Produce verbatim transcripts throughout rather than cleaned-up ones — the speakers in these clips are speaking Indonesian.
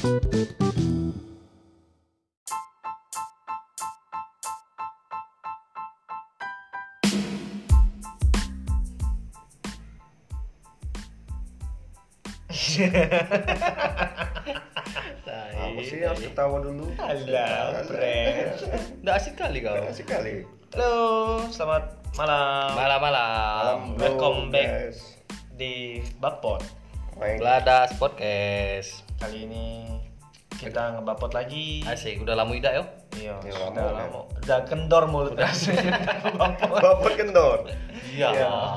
Apa sih harus ketawa dulu? Alah, friend. Nggak asik kali kau. Asik kali. Halo, selamat malam. Malam-malam. Welcome Bro, back. guys. Di Bapot. Main. Beladas podcast. Kali ini kita ngebapot lagi. Asik, udah lama tidak yo? Iya, Ya, sudah lama, lama. Udah kendor mulut rasanya. Bapot. Bapak kendor. Iya.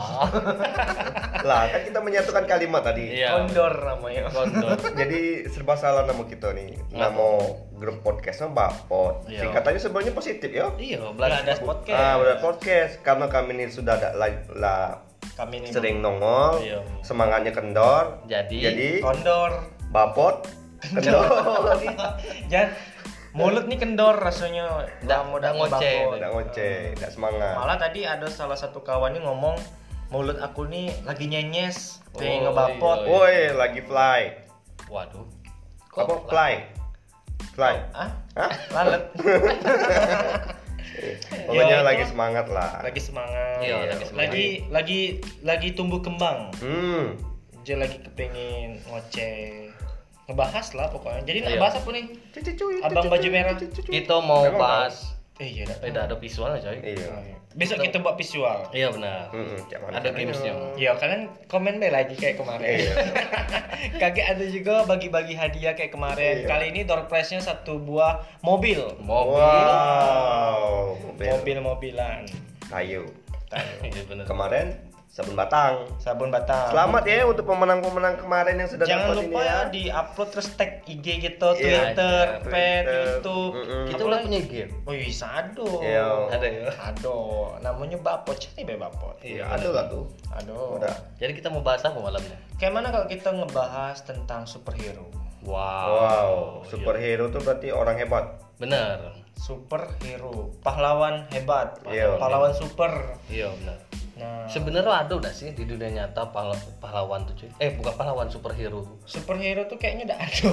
Lah, kan kita menyatukan kalimat tadi. Iya. Kondor namanya. Kondor. Jadi serba salah nama kita nih. Nama grup podcastnya Bapot. Iya. Singkatannya sebenarnya positif ya. Iya, Beladas beladas podcast. Ah, udah podcast karena kami ini sudah ada lah, lah Kami ini sering nongol, Iya. semangatnya kendor. Jadi, Jadi kondor. Bapot kendor. Jangan mulut nih kendor rasanya. Nggak- Lama nggak udah ngoceh. ngebapot. Enggak ngoceh, enggak semangat. Malah tadi ada salah satu kawan nih ngomong mulut aku nih lagi nyenyes, pengen Oh, ngebapot. iya, Woi, lagi fly. waduh. Apa fly? Fly. Ah, Hah? lalet. Pokoknya Ya, lagi itu. semangat lah. Lagi semangat. Iya, lagi semangat. Lagi lagi lagi tumbuh kembang. Hmm. Dia lagi kepengen ngoceh. Ngebahas lah pokoknya. Jadi nak Iya. bahas apa nih? Abang baju merah. Kita mau Memang bahas Eh iya dah. beda ada visualnya coy. Iya. Besok kita buat visual. Iya benar. Hmm, cak mana Ada caranya? gamesnya. Ya kalian komen deh lagi kayak kemarin. Iya. Kaget ada juga bagi-bagi hadiah kayak kemarin. Iya. Kali ini door prize-nya satu buah mobil. Mobil. Wow. Mobil. Mobil-mobilan. Kayu. Iya benar. Kemarin sabun batang. Sabun batang. Selamat ya untuk pemenang-pemenang kemarin yang sudah Jangan dapat lupa ini ya ya. di-upload terus tag I G gitu, Iya, Twitter, ada, Pet, Twitter. YouTube. Mm-mm. Kita Apa udah lagi? punya game. Oh iya, ado. Iya. Ada ya. Ado, namanya Bapot, cari be Bapot. Iya, ada lah tuh. Ado. Udah. Jadi kita mau bahas apa malamnya? Kayak mana kalau kita ngebahas tentang superhero? Wow. Wow, Iya. superhero tuh berarti orang hebat. Benar. Superhero, pahlawan hebat, Iya. pahlawan super. Iya benar. Nah, Sebenarnya ada udah sih di dunia nyata pahla- pahlawan tuh cuy. Eh bukan pahlawan, superhero. superhero tuh kayaknya udah ada.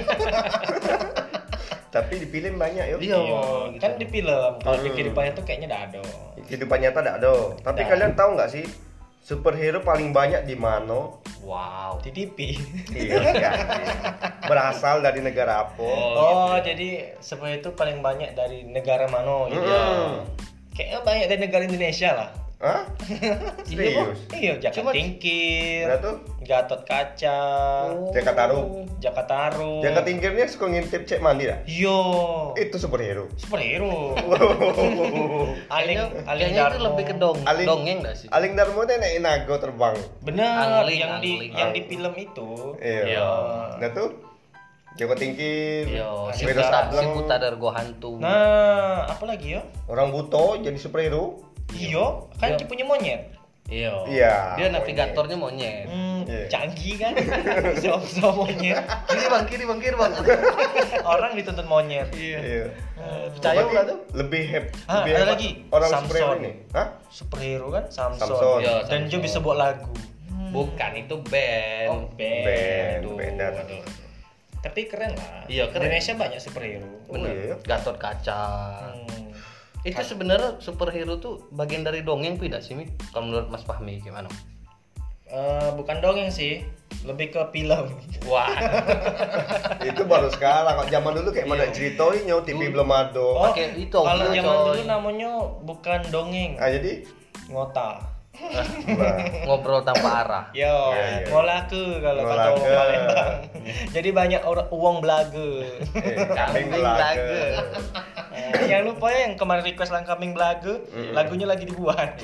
Tapi di film banyak yuk. Iya. Iya, gitu. kan di film. Kalau di Hmm. kehidupannya tuh kayaknya udah ada. Kehidupan nyata ada ada. Tapi Ada. kalian tahu nggak sih superhero paling banyak di mana? Wow. Di T V. Iya, kan? Berasal dari negara apa? Oh, jadi sebenarnya itu paling banyak dari negara mana gitu. Hmm. Kayaknya banyak dari negara Indonesia lah. Hah? Serius? Iya, Jakarta Cuma- Tingkir, Udah tuh? Gatot Kaca, Jakarta Taruh. Jakarta Taruh. Jakarta Tingkirnya suka ngintip cek mandi dah. Yo, Itu superhero. superhero. Aling, Kayaknya, Aling kayaknya itu Darmo. lebih ke dong, Aling- dongeng gak sih? Aling Darmo itu naik nago terbang. Benar, Angling, yang di angling. yang di film itu. Iya. Iya. Nah tuh Jakarta Tingkir. Yo, si Sepeda Puta, si sableng. Puta Dargo Hantu. Nah, apa lagi yo? Orang buto jadi superhero. Iyo, kan Iya. dia punya monyet. Iya. Iya, Dia navigatornya monyet. Hmm, Iya. canggih kan? Bisa monyet. Kiri bang, kiri bang, kiri bang. Orang dituntut monyet. Iya. Hmm, percaya Berarti nggak tuh? Lebih heb, Ah, lebih ada hebat lagi. orang Samson. superhero ini. Hah? Superhero kan Samson. Samson. Iya, Dan dia Samson. bisa buat lagu. Bukan, itu band. Oh, band. Band, Aduh, beda. aduh. Tapi keren lah. Iya, keren. Indonesia banyak superhero. Bener. Oh, iya. Gatot Kaca. Hmm. Itu sebenarnya superhero tuh bagian dari dongeng tidak sih, Mi? Kalau menurut Mas Fahmi gimana? Eh, bukan dongeng sih, lebih ke film. Wah. Itu baru sekarang. Kok zaman dulu kayak mana Iya. ceritonya T V Dulu. belum ada. Oh, Pakai itu, kalau coy. zaman dulu namanya bukan dongeng, Ah jadi ngota. nah, Ngobrol tanpa arah. Yo, Iya, iya. ngolaku kalau kata Ngolaku. orang Palembang. Jadi banyak orang uang belaga. eh, Kambing kambing belaga. belaga. Eh, yang lupa ya yang kemarin request lang kambing belaga, lagunya lagi dibuat.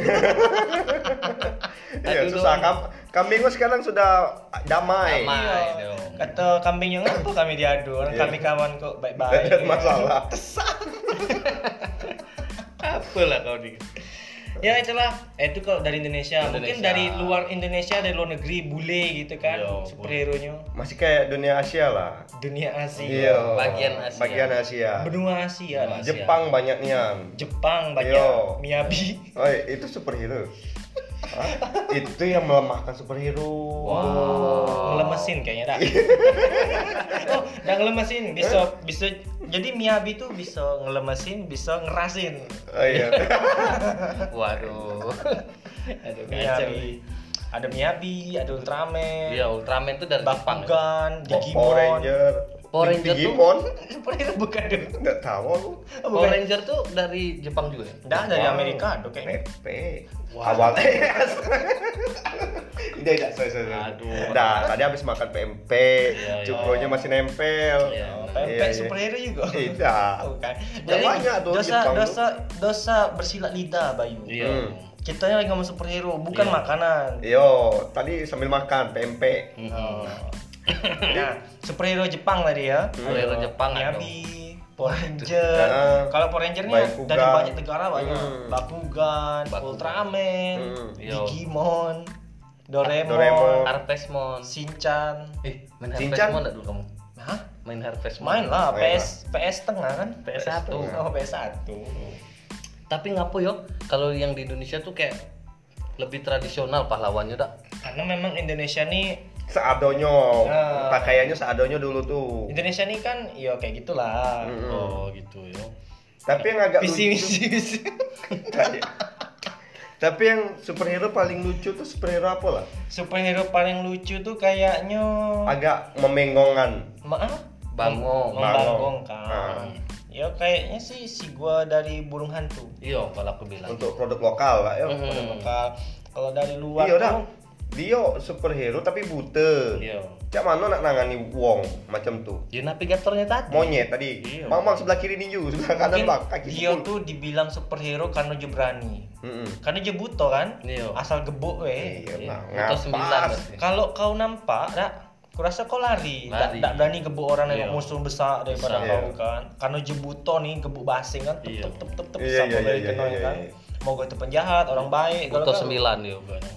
Iya Aduh, susah dong. kam kambing gua sekarang sudah damai. Damai. Iya. dong. Kata kambing yang apa kami diadu, orang Iya. kami kawan kok Tidak baik-baik. ada masalah. Apa lah kau nih? Ya itulah, eh, itu kalau dari Indonesia. Mungkin Indonesia. dari luar Indonesia, dari luar negeri bule gitu kan, Yo, superhero-nya. Masih kayak dunia Asia lah. Dunia Asia, Iya. Bagian Asia. Bagian Asia. benua Asia lah. Asia. Jepang banyak nian. Jepang banyak, Yo. Miyabi. Oh, itu superhero. Hah? Itu yang melemahkan superhero. Wow. Ngelemesin kayaknya dah. Oh, Nggak ngelemesin, bisa bisa jadi Miyabi tuh bisa ngelemesin, bisa ngerasin. Oh iya. Waduh. Aduh kacau. Miyabi. Ada Miyabi, ada Ultraman. Iya, Ultraman tuh dari Jepang. Ya? Bakugan, Digimon. Power Ranger. Power Ranger tuh- Digimon. Superhero bukan dong. Nggak tahu aku. Oh, Power bukan. Ranger tuh dari Jepang juga ya? Dah dari Wow. Amerika ada kayaknya. P P. Wah. Awal. Tidak, tidak, sorry, sorry. sorry. Aduh. Nah, tadi habis makan P M P, Iya, iya. cukronya masih nempel. Iya, Oh, benar. P M P Iya, iya. superhero juga. Tidak. Bukan. Ya, Jadi banyak tuh dosa Jepang tuh. dosa dosa bersilat lidah Bayu. Iya. Hmm. Kita lagi ngomong superhero, bukan Iya. makanan. Yo, tadi sambil makan P M P. Oh. Nah, superhero Jepang tadi ya. Superhero Jepang ada. Miyabi, Power Ranger. Heeh. Kalau Power Ranger nih Bakugan. dari banyak negara banyak. Hmm. Bakugan, Bakugan. Ultraman, Hmm. Yo. Digimon, Doraemon, Doraemon. Harvestmon. Shinchan. Eh, main Shinchan? Harvestmon enggak dulu kamu? Hah? Main Harvestmon. Main lah, Main PS PS tengah kan? P S satu. Oh, P S satu. Tapi ngapo yo kalau yang di Indonesia tuh kayak lebih tradisional pahlawannya dak. Karena memang Indonesia nih Seadonyo. Nah. Pakaiannya seadonyo dulu tuh. Indonesia nih kan ya kayak gitulah. Mm-mm. Oh, gitu yo. Tapi yang agak Visi lucu. misi visi. Tapi yang superhero paling lucu tuh superhero apa lah? Superhero paling lucu tuh kayaknya Agak memengongan. maaf Bangong. membanggongkan. Ah. Ya kayaknya sih si gua dari burung hantu. Iya, kalau aku bilang. Untuk produk lokal lah ya. Mhm. Pada bakal kalau dari luar Iya dah. tuh Dia superhero tapi buta. Iya. Cak mana nak nangani wong macam tuh? Ya navigatornya tadi. Monyet tadi. Iya. Mamang sebelah kiri ninju, sebelah kanan mungkin bak kaki dia sepul. tuh dibilang superhero karena dia berani. Mm-mm. Karena dia buto kan? Iya. Asal gebuk weh. Iya, Iya. nah, Atau sembilan ngapas. berarti. Kalau kau nampak, dak, kurasa kau lari, tak Lari. berani gebuk orang Iya. yang musuh besar daripada Besar. kau kan. Karena jebuto nih gebuk basing kan, tep Iya. tep tep tep tep Iya, sampai iya, dari iya, kena iya, kan. iya. Mau gue itu penjahat, orang baik. kalau Butuh kau- sembilan ya bukannya.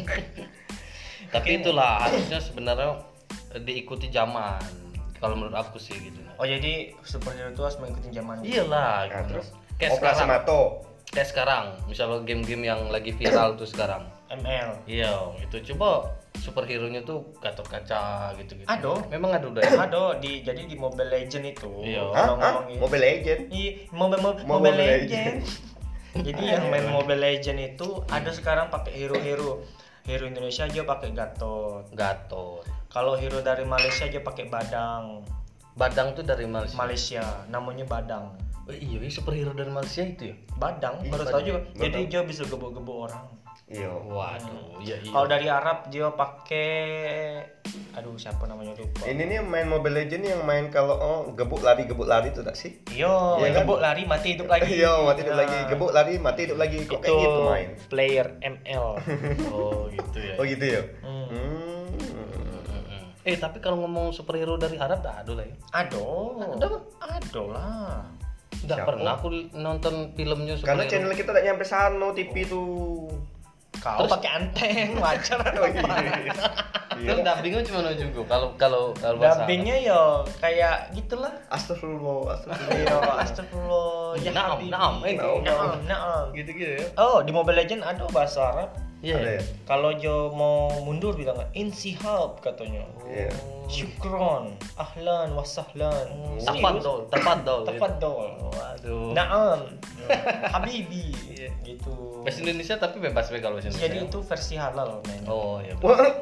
Tapi itulah harusnya sebenarnya diikuti zaman. Kalau menurut aku sih gitu. Oh jadi superhero itu harus mengikuti zaman. Iyalah. Nah, gitu. terus Kayak Operasi sekarang. Mato. Kayak sekarang, misalnya game-game yang lagi viral tuh sekarang. M L. Iya, itu coba superhero-nya tuh Gatot Kaca gitu-gitu. Ado. Memang ada udah. Ya? Ada di jadi di Mobile Legend itu. Iya. Hah? Kalau Hah? ngomongin Mobile Legend. Iya, Mobile, Mobile, Mobile Mobile Legend. Legend. Jadi yang main Mobile Legend itu ada sekarang pakai hero-hero. Hero Indonesia aja pakai Gatot. Gatot. Kalau hero dari Malaysia aja pakai Badang. Badang tuh dari Malaysia. Malaysia namanya Badang. Oh, iya, ini superhero dari Malaysia itu ya? Badang Iya, baru Badang. tahu juga. Badang. Jadi dia bisa gebuk-gebuk orang. Iya. Waduh, iya iya. Kalau dari Arab dia pakai aduh siapa namanya lupa. Ini nih yang main Mobile Legend yang main kalau oh, gebuk lari gebuk lari itu tak sih? Yo, Iya kan? gebuk lari mati hidup lagi. Iya, mati hidup Nah, lagi. Gebuk lari mati hidup lagi. Kok Itu kayak gitu main? player M L. Oh, gitu ya. Oh gitu ya. Hmm. Hmm. Eh, tapi kalau ngomong superhero dari Arab dah ada lah ya. Ado. Ada apa? Ado lah. Enggak Siapa? pernah aku nonton filmnya Karena superhero. channel kita tak nyampe sana T V tuh. Kau pakai anteng wajar Oh, iya. Terus dubbingnya cuma juga kalau kalau kalau bahasa Dubbingnya yo kayak gitulah. Astagfirullah, astagfirullah. Iya, astagfirullah. Ya Naam, Habibi. naam, eh, Naam, naam. naam. Arab. Gitu-gitu ya. Oh, di Mobile Legend ada bahasa Arab. Iya. Ada ya? Kalau Jo mau mundur bilang insihab katanya. Iya. Syukron, ahlan wasahlan. Tafadhol, tafadhol. Tafadhol. Waduh. Naam. Habibi. Iya. Gitu. Bahasa Indonesia tapi bebas be kalau bahasa Indonesia. Jadi itu versi halal men. Oh, iya. What?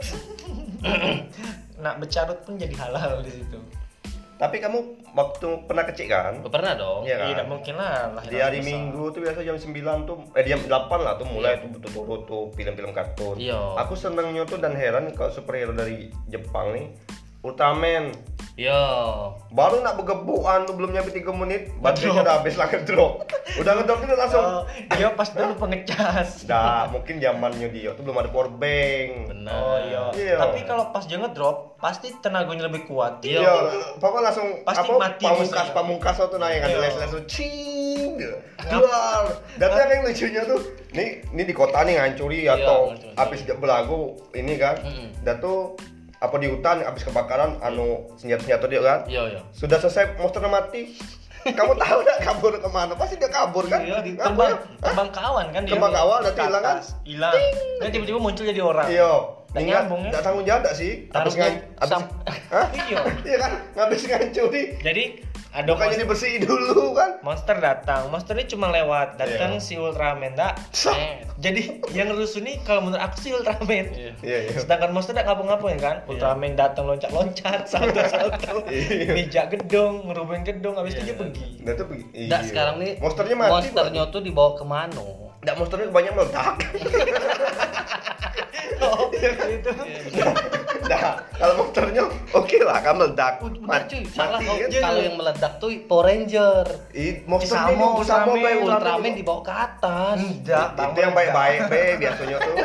Nak bercarut pun jadi halal di situ. Tapi kamu waktu pernah kecil kan? Oh, pernah dong. Iya kan? Tidak mungkin lah. lahir Di hari besar. Minggu tuh biasa jam sembilan tuh eh jam delapan lah tuh mulai tuh betul-betul tuh film-film kartun. Iya. Aku senengnya tuh dan heran kalau superhero dari Jepang nih Ultraman. Iya. Baru nak bergebukan tuh belum nyampe tiga menit, baterainya udah habis lah ngedrop. Udah ngedrop itu langsung. Oh, dia pas dulu pengecas. Dah, mungkin zamannya dia tuh belum ada power bank. Benar. Oh iya. Iya. Tapi kalau pas dia ngedrop, pasti tenaganya lebih kuat. Iya. Iya, papa langsung Pasti apa mati pamungkas musuhnya. pamungkas tuh naik ada Iya. les les tuh cing. Duar. Dan tuh yang lucunya tuh, nih ini di kota nih ngancuri atau ngancuri. habis dia belagu ini kan. Mm-mm. Dan tuh apa di hutan habis kebakaran anu senjata-senjata dia kan. Iya, iya. Sudah selesai monsternya mati. Kamu tahu nggak kabur kemana? Pasti dia kabur kan? Iya, di- Kabur. terbang terbang kawan kan dia. Terbang kawan, nanti Ke hilang kan? atas. Hilang. Dan tiba-tiba muncul jadi orang. Iya. Nggak Enggak, nyambung ya. enggak tanggung jawab enggak sih? Habis Taruhnya ngan, habis, sam- Hah? Iya. Iya kan? Ngabis ngancuri. Jadi ada Bukannya monster, dibersihin dulu kan? monster datang, monster ini cuma lewat, datang Iya. si Ultraman dak. Eh, Jadi yang rusuh nih kalau menurut aku sih Ultraman. iya. Iya, iya. Sedangkan monster tidak ngapa-ngapain kan? Ultraman datang loncat-loncat, salto-salto, Iya. mijak gedung, ngerubuhin gedung, habis itu Iya. dia pergi. Nah, itu begi- iya. Nggak, sekarang nih monsternya mati. monsternya tuh dibawa ke Mano. Enggak, monsternya kebanyakan meledak. Oh, itu. Nah, kalau monsternya oke lah, kan meledak. Oh, bener Mati, cuy, salah mati kau. kan? Kalau yang meledak tuh Power Ranger. Ih, monsternya Sama, ini sama Ultraman, Bay, Ultraman dibawa ke atas. Enggak, Bang. Itu yang baik-baik, Be, biasanya tuh.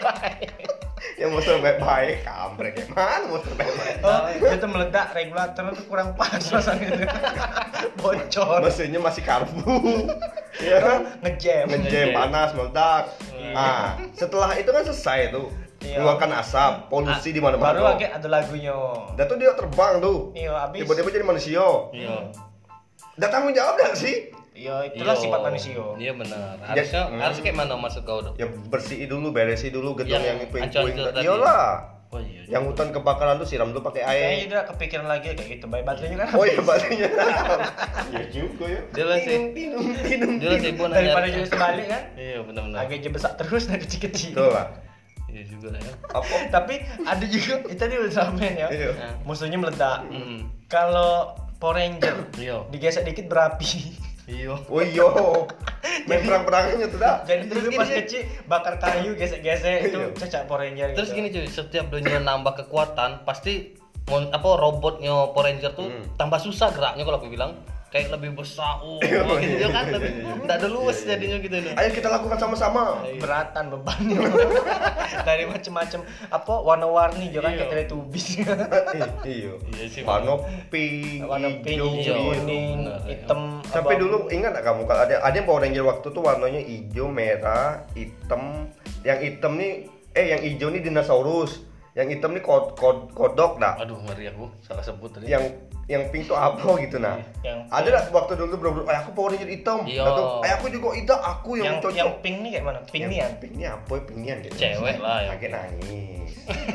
Yang monster baik-baik, kampret. Mana monster baik-baik? Oh, itu meledak, regulator itu kurang pas rasanya itu. Bocor. Mesinnya masih karbu. Iya kan? Ngejam. Ngejam, panas, meledak. Iya. Nah, setelah itu kan selesai tuh. Iya. Mengeluarkan asap, polusi di mana-mana. Baru lagi ada lagunya. Dan tuh dia terbang tuh. Iya, habis. Tiba-tiba jadi manusia. Iya. Dan tanggung jawab gak sih? Iya, itulah Iya. sifat manusia. Iya benar. Harusnya Hmm. harus kayak mana maksud kau dong? Ya bersihin dulu, beresin dulu gedung Yang yang itu yang hancur-hancur puing. tadi. Iyalah. Oh iya. Yang hutan kebakaran tuh siram dulu pakai Kayaknya air. udah kepikiran lagi kayak gitu. Baik baterainya kan. Oh iya baterainya. Iya juga ya. Dia lah sih. Minum, minum, Dia lah sibuk nanya. Daripada jadi sebalik kan. Iya benar-benar. Agak aja besar terus dari kecil-kecil. Tuh lah. Iya juga lah ya. Apa? Tapi ada juga itu tadi Ultraman ya. Iya. Nah. Musuhnya meledak. Hmm. Kalau Power Ranger Iya. digesek dikit berapi. Iya. Oh iya. Main perang-perangannya tuh dah. Jadi Terus dulu pas gini, kecil bakar kayu gesek-gesek itu Iya. cecak Power Ranger. Terus gitu. gini cuy, setiap dunia nambah kekuatan pasti mon, apa robotnya Power Ranger tuh Hmm. tambah susah geraknya kalau aku bilang. Kayak lebih besar, oh, Iya, gitu iya, kan, iya, lebih iya, iya. nggak ada luas Iya, iya. jadinya gitu nih. Ayo kita lakukan sama-sama. beratan bebannya dari macam-macam apa warna-warni juga kan Iya. kayak Teletubbies. Eh, Iya. Iya sih, Warna pink, Warna pink, hijau, hijau, iya. kuning, Benar, iya. hitam. Sampai abang. dulu ingat gak kamu kalau ada ada yang Power Ranger waktu tuh warnanya hijau, merah, hitam. Yang hitam nih eh yang hijau nih dinosaurus. Yang hitam nih kod, kod, kodok dah. Aduh ngeri aku, salah sebut tadi. Yang yang pink tuh apa gitu nah. Yang Ada lah waktu dulu bro, eh aku Power Ranger hitam. Iya. Atau eh aku juga hitam, aku yang, yang cocok. yang pink nih kayak mana? Pink Yang nih ya. Pink nih apa ya pingian gitu. Cewek lah ya. Kaget nangis.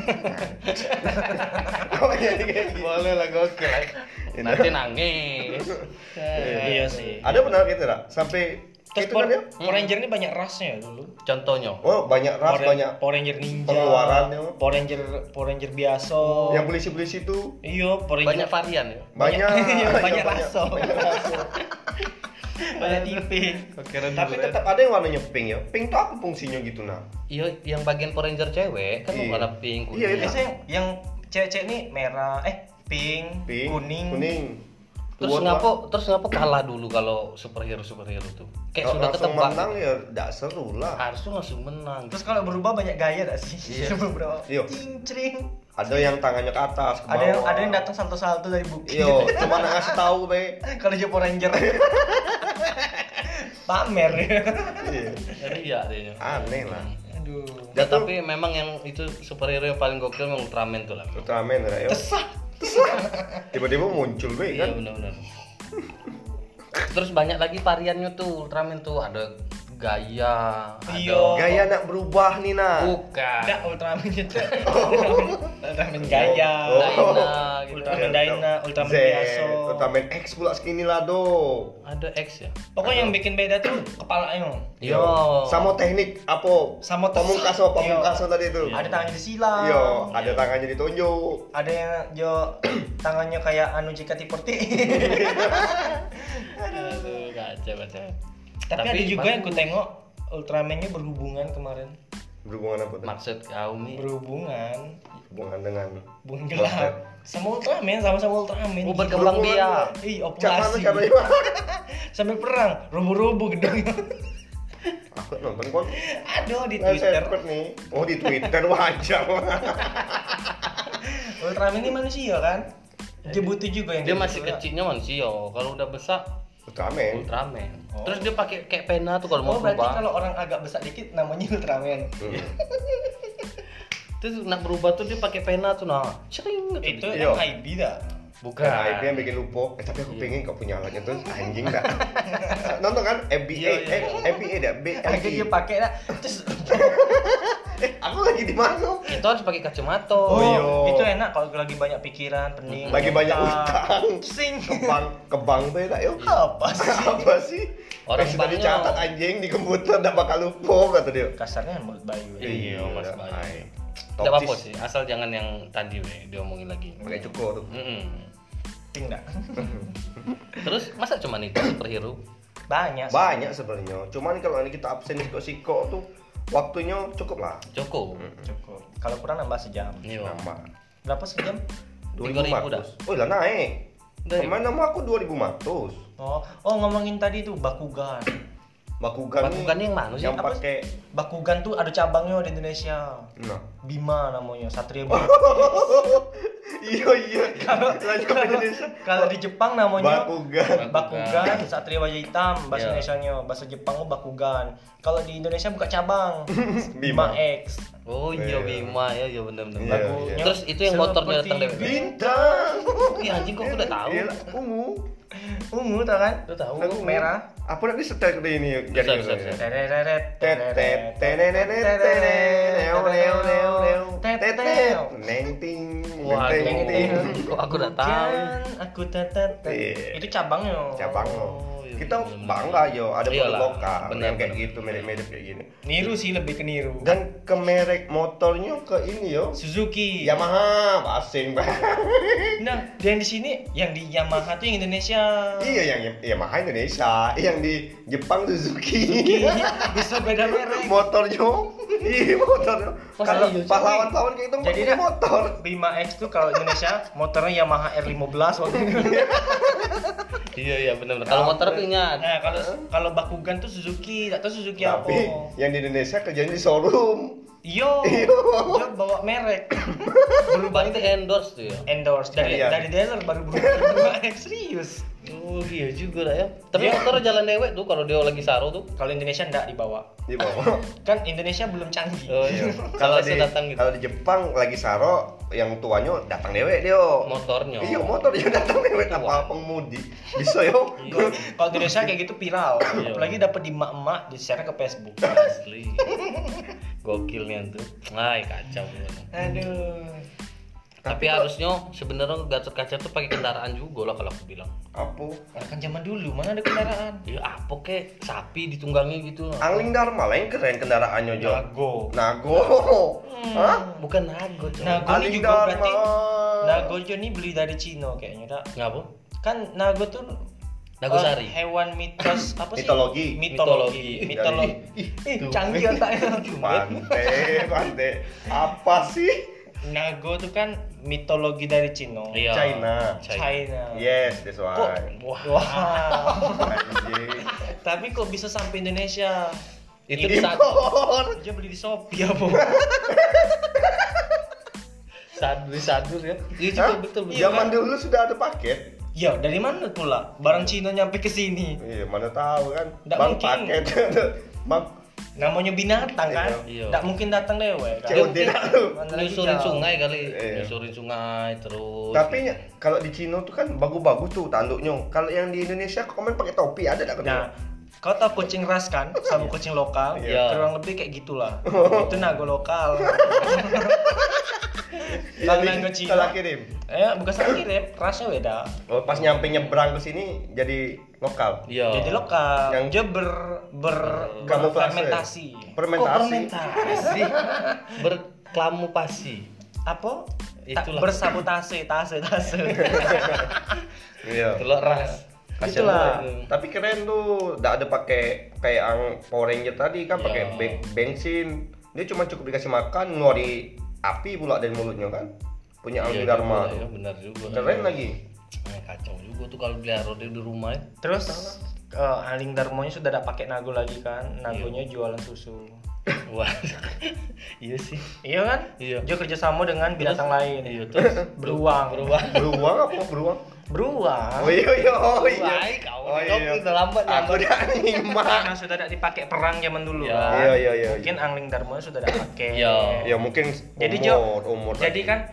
Oh iya kayak gitu. Boleh lah gokil lah. Itu. Nanti nangis. Iya sih. Ada benar gitu lah. Sampai Terus itu Power, kan ya? Power Ranger ini banyak rasnya ya dulu. Contohnya. Oh banyak ras, Power, banyak Power Ranger ninja, pengeluarannya. Power Ranger Power Ranger biasa. yang polisi-polisi tuh Iya, Power Ranger Banyak varian ya. banyak Iya, banyak Iya, rasa. banyak rasa. banyak tipe. Keren Tapi tetap ada yang warnanya pink ya. Pink tuh apa fungsinya gitu nah? Iya, yang bagian Power Ranger cewek kan Iya. warna pink. Iya, kuning. Biasanya yang cewek-cewek nih merah, eh pink, Pink, kuning. kuning. Terus Tua, ngapa terus ngapa kalah dulu kalau superhero superhero tuh? Kayak Kalau sudah langsung ketebak. menang ya enggak seru lah. Harusnya langsung menang. Terus kalau berubah banyak gaya gak sih? Iya. Beberapa. Iya. Cincring. Ada yang tangannya ke atas, ke bawah. Ada yang ada yang datang salto-salto dari bukit. Iya, cuma ngasih tahu be. Kalau dia Power Ranger. Pamer. Iya. Jadi iya adanya. Aneh lah. Aduh. Ya, Jatuh tapi memang yang itu superhero yang paling gokil memang Ultraman tuh lah. Ultraman ya. Tesah. Tiba-tiba muncul be Iya kan. benar-benar. Terus banyak lagi variannya tuh Ultraman tuh ada gaya, Iya. ada Gaya nak berubah nih nah. bukan. Ada Ultraman itu. Ultraman gaya. Oh. Dyna gitu. Ultraman Dyna, Ultraman Z, biasa. Ultraman X pula skinny lah do. Ada X ya? Pokoknya yang bikin beda tuh kepalanya. Iya. Sama teknik apa? Sama pamungkas sama pamungkas Iya. tadi itu. Ada tangannya disilang. Iya, ada tangannya ditunjuk. Ada yang jo tangannya kayak anu jika tiporti. Aduh, kacau kacau. Tapi, ada juga yang ku tengok Ultraman-nya berhubungan kemarin. Berhubungan apa tuh? Maksud kau nih? Berhubungan Hubungan dengan hubungan gelap. Sama Ultraman, sama-sama Ultraman. Oh, berkembang Berhubungan biak. Ih, Cak mana opulasi. caranya? Sambil perang, rubuh-rubuh gedungnya. Aku nonton kon. Aduh di Nah, Twitter. saya cepet nih. Oh di Twitter wajah. Ultraman ini manusia kan? Dia butuh juga yang Dia kayak masih gitu, ya. kecilnya manusia. Kalau udah besar Ultraman. Ultraman. Oh. Terus dia pakai kayak pena tuh kalau mau Oh berarti berubah. kalau orang agak besar dikit namanya Ultraman. Hmm. Terus nak berubah tuh dia pakai pena tuh nah. Cering gitu. Itu Iya. M I B dah. Bukan. Kan A I P yang bikin lupa. Eh, tapi aku pengen kau punya alatnya tuh anjing dah. Nonton kan F B A, Iya, iya. eh F B A dah, B L Akhirnya I. dia pakai dah. Terus Eh, aku lagi di mana? Itu harus pakai kacamata. oh, iya. itu enak kalau lagi banyak pikiran, pening. Lagi banyak utang. Sing. Ke bank, ke bank tuh ya, yuk. Apa sih? Apa sih? Orang Orang sudah banknya- dicatat anjing di komputer ndak bakal lupa kata dia. Kasarnya mulut Bayu. Iya, Mas Bayu. Ay. Tidak apa-apa Topis. sih, asal jangan yang tadi we, diomongin lagi. Pakai cukur tuh. Mm-mm. Ting dah. Terus masa cuma itu superhero? Banyak. sih. Banyak sebenarnya. Cuman kalau ini kita absen siko-siko tuh waktunya cukup lah. Cukup. Cukup. Kalau kurang nambah sejam. Iya. Nambah. Berapa sejam? tiga ribu dah. Oh, lah naik. Dari- Kemarin nama aku dua ribu ratus. Oh, oh ngomongin tadi tuh Bakugan. Bakugan, Bakugan yang mana sih? Yang Apa? pakai Bakugan tuh ada cabangnya di Indonesia. nah. Bima namanya, Satria Bima. Iya iya. Kalau Lanjut ke Indonesia. kalau di Jepang namanya Bakugan. Bakugan, Satria Wajah Hitam, bahasa Iya. Indonesianya, bahasa Jepang Bakugan. Kalau di Indonesia buka cabang, Bima. Bima X. Oh iya Iya. Bima ya, iya benar-benar. Iya, Lagunya iya. Terus itu yang motornya seperti datang dari Bintang. Iya anjing kok aku udah tahu. Iya, ungu. ungu tau kan? Udah tahu. Lagu merah. Apa nanti setel ke ini Bisa, jadi bisa, bisa. Tereret, Tet tet tenenet tenenet neo neo neo neo tet tet neng ting Wah, neng Neng ting. ting. kok aku udah tahu. Hujan, aku tetet. Iya. Itu cabangnya. Cabang lo. Oh, iya, Kita bener-bener. bangga yo ada produk Iyalah, lokal bener, yang kayak bener. gitu mirip-mirip kayak gini. Niru sih, lebih ke niru. Dan ke merek motornya ke ini yo Suzuki. Yamaha asing banget. Nah, yang di sini, yang di Yamaha tuh yang Indonesia. Iya yang Yamaha Indonesia, yang di Jepang Suzuki. Bisa beda merek. Motornya, iya motornya. Masa Kalau iya, cuy? pahlawan-pahlawan kayak itu Jadi pakai dah, motor. Bima X tuh kalau Indonesia motornya Yamaha R lima belas waktu itu. Iya iya benar-benar. Kalau motor aku ingat. Nah, kalau kalau Bakugan tuh Suzuki, enggak tahu Suzuki apa. Tapi yang di Indonesia kerjanya di showroom. Iyo, Iyo. dia bawa merek. Berubah itu endorse tuh ya. Endorse dari Iya. dari dealer baru berubah Bima X, serius. Oh iya juga dah ya. Tapi Iya. motor jalan dewek tuh kalau dia lagi saro tuh. Kalau Indonesia enggak dibawa. Di bawah. Kan Indonesia belum canggih. Oh iya. Kalau Kalau di datang gitu. kalau di Jepang lagi saro, yang tuanya datang dewek dia. Motornya. Iya motor dia datang dewek apa pengemudi. Bisa yo. Kalau kalau di Indonesia kayak gitu viral. Iya. Apalagi dapat di emak-emak di-share ke Facebook. Asli. Gokilnya tuh. Ay kacau bener. Aduh. Tapi, Tapi kok- harusnya sebenarnya Gatot Kaca tuh pakai kendaraan juga lah kalau aku bilang. Apa? Nah, kan zaman dulu mana ada kendaraan? Ya apa kek sapi ditunggangi gitu. Angling Dharma lah yang keren kendaraannya Jo. Nago. Nago. Hah? Bukan nago, coy. Nago ini Angling juga berarti Dharma. Nago Jo ini beli dari Cina kayaknya, tak? Ngapa? Kan Nago tuh Nagosari. eh, hewan mitos apa sih? Mitologi. Mitologi. Mitologi. Mitologi. Ih, canggih otaknya. Pantai, pantai. Apa sih? Nago tuh kan mitologi dari Cina. Iya. China. China. Yes, that's Kok? why. Wah. Wow. Anjing. Tapi kok bisa sampai Indonesia? Itu Ini di saat Impor. dia beli di Shopee apa? sadur sadur ya. Iya Hah? juga betul betul. Zaman dulu sudah ada paket. Ya, dari mana pula barang Cina nyampe ke sini? Iya, mana tahu kan. Nggak Bang mungkin. paket. Bang Namanya binatang kan? Iya. Nggak mungkin datang dewek kan? C O D dah lu. Mana lagi Nyusurin jauh. sungai kali, Iya. nyusurin sungai terus. Tapi ny- kalau di Cina tuh kan bagus-bagus tuh tanduknya. Kalau yang di Indonesia komen pakai topi ada enggak Nah, kau tahu kucing ras kan? Sama kucing lokal? Iya. Kurang lebih kayak gitulah. Itu nago lokal. Kalau nago Cina, salah kirim. eh bukan salah kirim, rasnya beda. Oh, pas nyampe nyebrang ke sini jadi lokal. Iya. Jadi lokal. Yang- Dia ber ber Kamuflase. berfermentasi. Kok Fermentasi. fermentasi? Berklamupasi. Apa? Ta- Itulah. bersabotase, tase, tase. Iya. Telur ras. Kasian Itulah. banget. Tapi keren tuh, enggak ada pakai kayak ang Power Ranger tadi kan Iya. pakai be- bensin. Dia cuma cukup dikasih makan ngeluari api pula dari mulutnya kan. Punya Angling Iya Dharma. juga, ya, tuh. benar juga. Keren lagi. Eh, kacau juga tuh kalau pelihara dia di rumah ya. Terus uh, Angling Darmonya sudah tidak pakai nago lagi kan? Nagonya jualan susu. Wah. Iya sih. Iya kan? Iya. Dia kerjasama dengan binatang lain. Iya, terus Beruang. beruang. Beruang apa beruang? Beruang. Oh iya iya oh iya. Wah, kau Oh, kau iya. udah lambat Aku nyampe. udah nyimak. Karena sudah tidak dipakai perang zaman dulu Iya. kan. Iya iya iya. Mungkin Angling Darmonya sudah tidak pakai. Iya. Ya mungkin Jadi umur Jo, umur jadi lagi. kan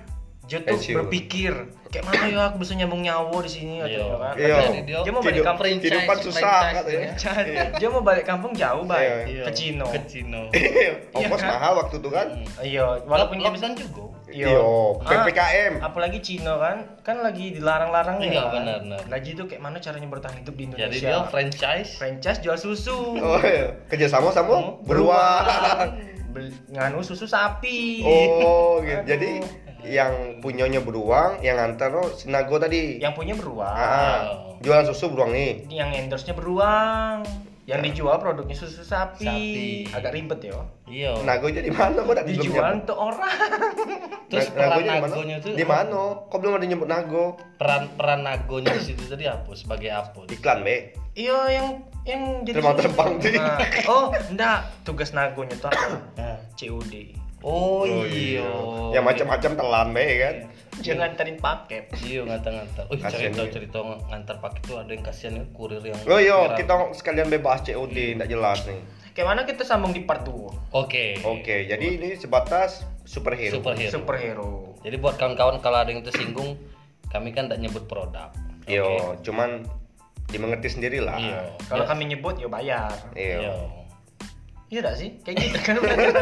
Dia tuh Pensiun. berpikir kayak mana ya aku bisa nyambung nyawa di sini Iya. katanya kan. Iya. Jadi dia, Dia mau balik Hidup- kampung Kehidupan susah franchise, katanya. Chan. Iya. Dia mau balik kampung jauh, Bay. Iya. Ke Cino. Ke Cino. Ongkos kan? mahal waktu itu kan. Iya, walaupun dia bisa lockdown juga. Iya. Iya, P P K M. Ah, apalagi Cino kan, kan lagi dilarang-larang Iya, kan. benar, benar. Lagi itu kayak mana caranya bertahan hidup di Indonesia. Jadi dia franchise. franchise jual susu. Oh iya, kerjasama sama beruang. Beli- nganu susu sapi. Oh, gitu. Aduh. Jadi yang punyanya beruang, yang nganter oh, si Nago tadi. Yang punya beruang. Ah, jualan susu beruang nih. Yang endorse-nya beruang. Yang dijual produknya susu sapi. Sapi. Agak ribet ya. Iya. Nago jadi mana? Kok tidak Dijual untuk orang. Terus Na- peran Nagonya di mana? nagonya tuh Di mana? Kok belum ada nyebut Nago? peran peran nagonya di situ tadi apa? Sebagai apa? Iklan, Be. Iya, yang yang jadi Terbang-terbang susu. sih. Nah, oh, enggak. Tugas nagonya tuh apa? Nah. C O D. Oh, iya. Yang macam-macam telan, Be kan. Jangan nganterin paket. Iya ngantar-ngantar. Oh, Kasian cerita-cerita ngantar paket tuh ada yang kasihan ya, kurir yang Oh iya, viral. kita sekalian bebas C O D, enggak jelas nih. Kayak mana kita sambung di part dua? Oke. Oke, jadi ini sebatas superhero. Superhero. Superhero. Jadi buat kawan-kawan kalau ada yang tersinggung, kami kan tidak nyebut produk. Yo, cuman dimengerti sendiri lah. Iya. Kalau Ya. kami nyebut ya bayar. Iya. Iya. Iya enggak sih? Kayak gitu kan.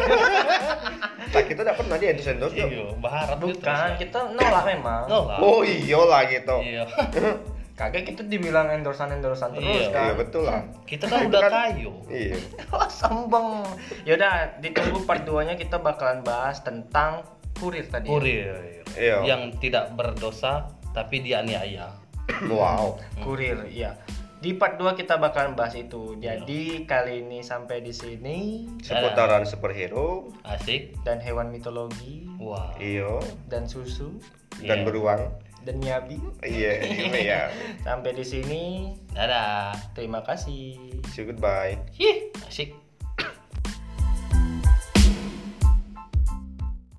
Nah, kita enggak pernah di endorse endorse. Iya, berharap gitu. Bukan, kita nolak memang. Nolak. Oh iya lah gitu. Iya. Kagak kita dibilang endorsan-endorsan terus Iya. kan. Iya betul lah. Kita kan udah kayu. Iya. Wah, sombong. Yaudah, ditunggu part dua-nya kita bakalan bahas tentang kurir tadi. Kurir. Iya. Yang tidak berdosa tapi dianiaya. Wow. Kurir, iya. Di part dua kita bakalan bahas itu. Jadi kali ini sampai di sini Seputaran superhero. Asik. dan hewan mitologi Wah. Iya. dan susu Dan Iya. beruang. dan nyabi. Iya, iya. Sampai di sini. Dadah. Terima kasih. See you goodbye. Ih, asik.